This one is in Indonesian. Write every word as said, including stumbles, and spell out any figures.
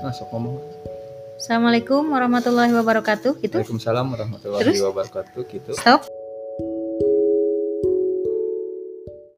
Masuk ngomong. Assalamualaikum warahmatullahi wabarakatuh gitu. Waalaikumsalam warahmatullahi Terus? wabarakatuh gitu. Stop.